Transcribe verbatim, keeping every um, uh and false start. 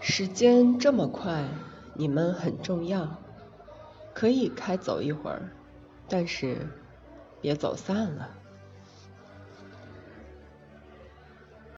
时间这么快，你们很重要，可以开走一会儿，但是别走散了。